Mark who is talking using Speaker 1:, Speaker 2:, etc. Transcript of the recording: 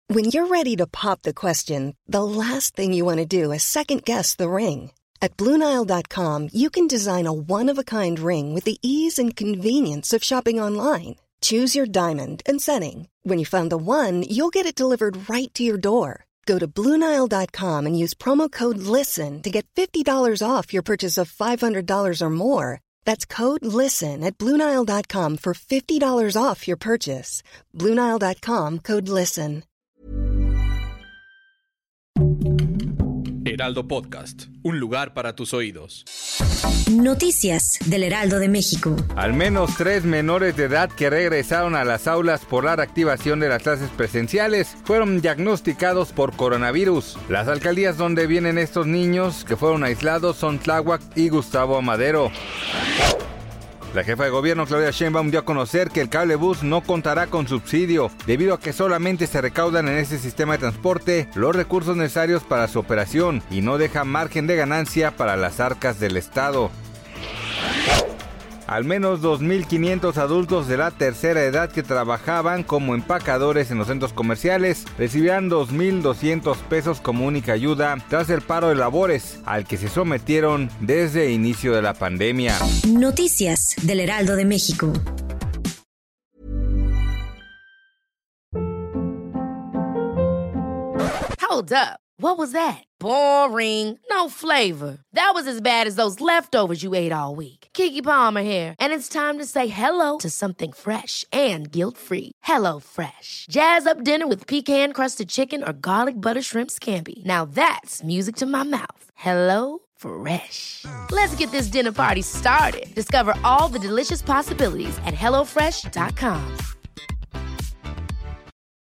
Speaker 1: When you're ready to pop the question, the last thing you want to do is second-guess the ring. At BlueNile.com, you can design a one-of-a-kind ring with the ease and convenience of shopping online. Choose your diamond and setting. When you find the one, you'll get it delivered right to your door. Go to BlueNile.com and use promo code LISTEN to get $50 off your purchase of $500 or more. That's code LISTEN at BlueNile.com for $50 off your purchase. BlueNile.com, code LISTEN.
Speaker 2: Heraldo Podcast, un lugar para tus oídos.
Speaker 3: Noticias del Heraldo de México.
Speaker 4: Al menos 3 menores de edad que regresaron a las aulas por la reactivación de las clases presenciales fueron diagnosticados por coronavirus. Las alcaldías donde vienen estos niños que fueron aislados son Tláhuac y Gustavo Amadero. La jefa de gobierno, Claudia Sheinbaum, dio a conocer que el cablebús no contará con subsidio, debido a que solamente se recaudan en ese sistema de transporte los recursos necesarios para su operación y no deja margen de ganancia para las arcas del Estado. Al menos 2.500 adultos de la tercera edad que trabajaban como empacadores en los centros comerciales recibirán 2.200 pesos como única ayuda tras el paro de labores al que se sometieron desde el inicio de la pandemia.
Speaker 3: Noticias del Heraldo de México.
Speaker 5: Hold up. What was that? Boring. No flavor. That was as bad as those leftovers you ate all week. Keke Palmer here, and it's time to say hello to something fresh and guilt-free. Hello Fresh. Jazz up dinner with pecan-crusted chicken or garlic butter shrimp scampi. Now that's music to my mouth. Hello Fresh. Let's get this dinner party started. Discover all the delicious possibilities at HelloFresh.com.